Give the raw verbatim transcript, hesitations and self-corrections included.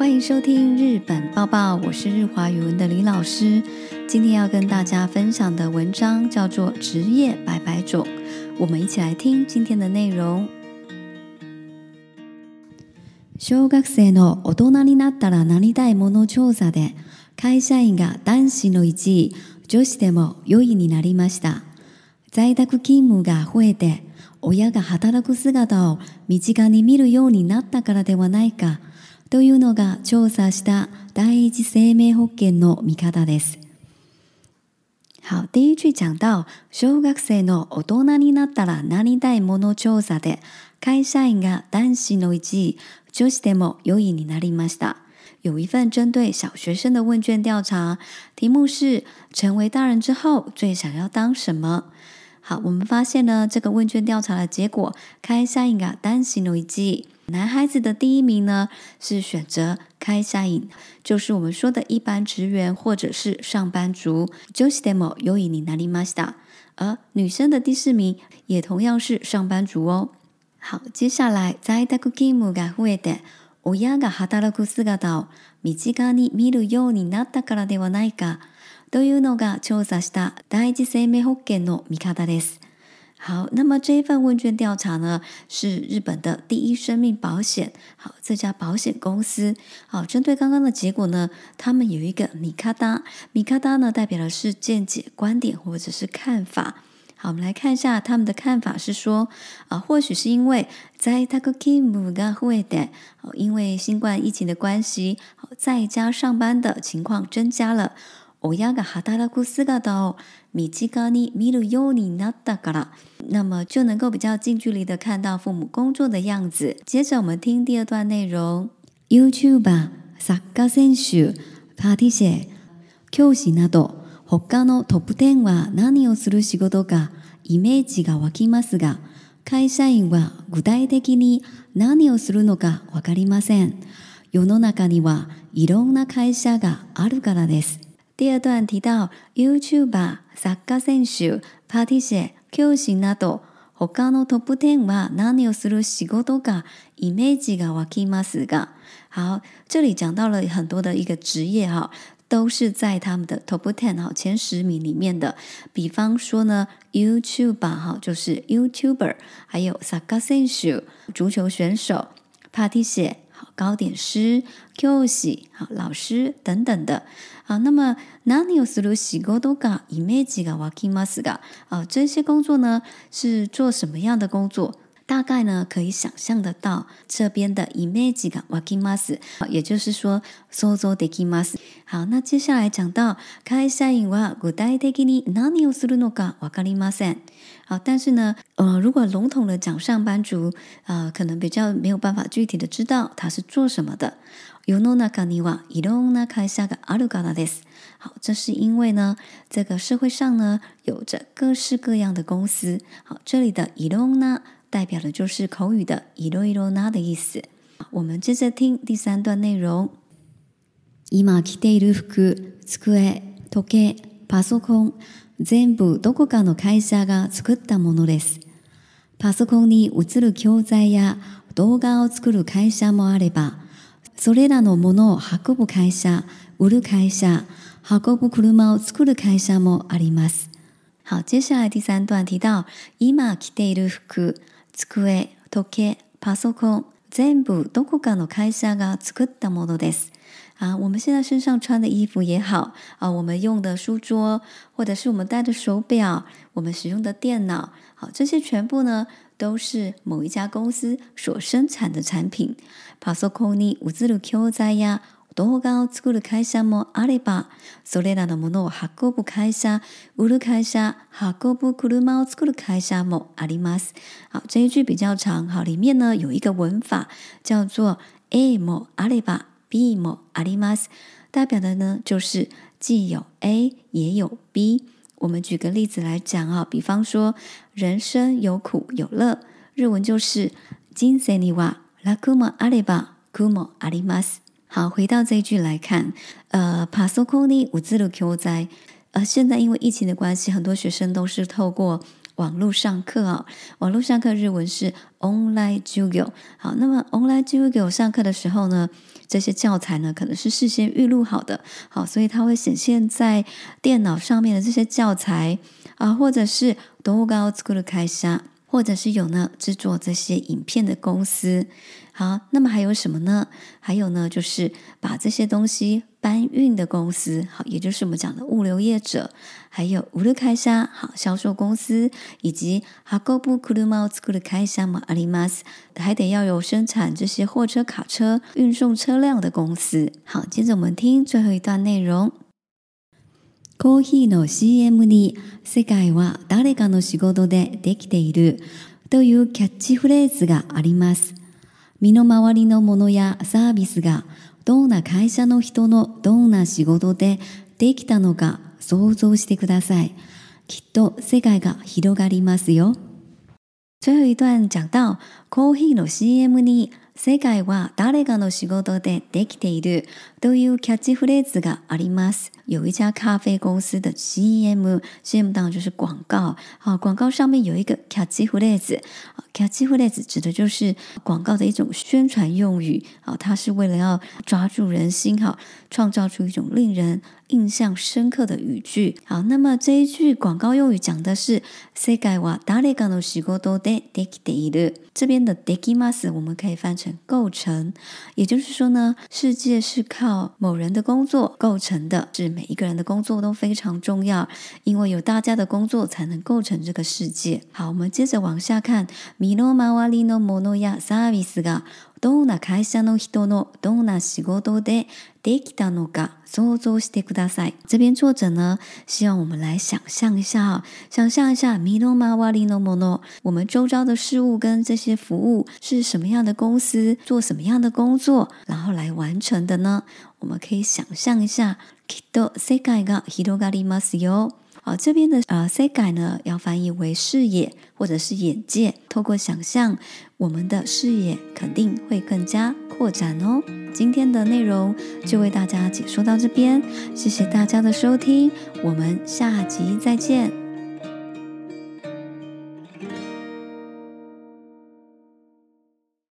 欢迎收听日本报报，我是日华语文的李老师。今天要跟大家分享的文章叫做职业百百种，我们一起来听今天的内容。小学生の大人になったらなりたいもの調査で会社員が男子のいちい、女子でもよいになりました。在宅勤務が増えて親が働く姿を身近に見るようになったからではないかというのが調査した第一生命保険の見方です。好，第一句講到小學生の大人になったらなりたいもの調査で会社員が男子のいちい、女子でもよいになりました。有一份针对小学生的问卷调查，题目是成为大人之后最想要当什么？好，我们发现呢，这个问卷调查的结果，会社員が男子のいちい，男孩子的第一名呢是选择会社員，就是我们说的一般职员或者是上班族。女子でもよいになりました。而女生的第四名也同样是上班族哦。好，接下来在宅勤務が増えて親が働く姿を身近に見るようになったからではないかというのが調査した第一生命保険の見方です。好，那么这一份问卷调查呢，是日本的第一生命保险。好，这家保险公司，好，针对刚刚的结果呢，他们有一个見方，見方呢代表的是见解、观点或者是看法。好，我们来看一下他们的看法是说，啊，或许是因为在宅勤務が増えて，因为新冠疫情的关系，在家上班的情况增加了。親が働く姿を身近に見るようになったから，那么就能够比較近距離的看到父母工作的樣子。接着我們聽第二段內容。YouTuber、サッカー選手、パティシエ、教師など他のトップじゅうは何をする仕事かイメージが湧きますが、会社員は具体的に何をするのかわかりません。世の中にはいろんな会社があるからです。第二段提到 YouTuber、サッカー選手、パティシエ、教師など他のトップじゅうは何をする仕事かイメージが湧きますが，好，这里讲到了很多的一个职业哈，都是在他们的 top ten 哈前十名里面的。比方说呢 YouTuber 哈就是 YouTuber， 还有サッカー選手足球选手、パティシエ糕点师、教師老師等等的。好，那么何をする仕事がイメージが湧きますが，啊，这些工作呢是做什么样的工作？大概呢可以想象得到这边的イメージが湧きます，也就是说想像できます。好，那接下来讲到会社員は具体的に何をするのかわかりません。好，但是呢，呃，如果笼统的讲上班族，呃，可能比较没有办法具体的知道他是做什么的。世の中にはいろんな会社があるからです。好，这是因为呢，这个社会上呢有着各式各样的公司。好，这里的いろんな代表的就是口语的いろいろな的意思。我们接着听第三段内容。今着ている服、机、時計、パソコン、全部どこかの会社が作ったものです。パソコンに映る教材や動画を作る会社もあれば、それらのものを運ぶ会社、売る会社、運ぶ車を作る会社もあります。好，接下来第三段提到今着ている服、机、時計、パソコン、全部どこかの会社が作ったものです。啊，我们现在身上穿的衣服也好，啊，我们用的书桌，或者是我们戴的手表，我们使用的電腦，好，这些全部呢都是某一家公司所生产的产品。パソコンに映る教材や動画を作る会社もあれば、それらのものを運ぶ会社、売る会社、運ぶ車を作る会社もあります。好，这一句比较长，好，里面呢有一个文法叫做 A もあれば。B もあります，代表的呢就是既有 A 也有 B。我们举个例子来讲啊，比方说人生有苦有乐，日文就是人生には楽もあれば苦もあります。好，回到这一句来看，呃，パソコンに映る教材，呃，现在因为疫情的关系，很多学生都是透过网络上课哦。网络上课日文是 online 授業。好，那么 online 授業上课的时候呢，这些教材呢可能是事先预录好的，好，所以它会显现在电脑上面的这些教材啊，或者是動画を作る会社，或者是有呢制作这些影片的公司。好，那么还有什么呢？还有呢，就是把这些东西搬运的公司，好，也就是我们讲的物流业者，还有売る会社，好，销售公司，以及運ぶ車を作る会社もあります。还得要有生产这些货车、卡车、运送车辆的公司。好，接着我们听最后一段内容。コーヒーの シーエム に世界は誰かの仕事でできているというキャッチフレーズがあります。身の回りのものやサービスがどんな会社の人のどんな仕事でできたのか想像してください。きっと世界が広がりますよ。最後一段講到、コーヒーの シーエム に世界は誰かの仕事でできているというキャッチフレーズがあります。有一家咖啡公司的 C M，C M 当然就是广告。好，广告上面有一个 catchy phrase，catchy phrase 指的就是广告的一种宣传用语。好，它是为了要抓住人心，好，创造出一种令人印象深刻的语句。好，那么这一句广告用语讲的是世界は誰かの仕事でできている。这边的できます我们可以翻成构成，也就是说呢，世界是靠某人的工作构成的，是每一个人的工作都非常重要，因为有大家的工作才能构成这个世界。好，我们接着往下看，身の回りのものやサービスがどんな会社の人のどんな仕事でできたのか想像してください。这边作者呢，希望我们来想象一下哈，想象一下身の回りのもの，我们周遭的事物跟这些服务是什么样的公司，做什么样的工作，然后来完成的呢？我们可以想象一下，きっと世界が広がりますよ。好，这边的呃世界呢，要翻译为视野或者是眼界。透过想象，我们的视野肯定会更加扩展哦。今天的内容就为大家解说到这边，谢谢大家的收听，我们下集再见。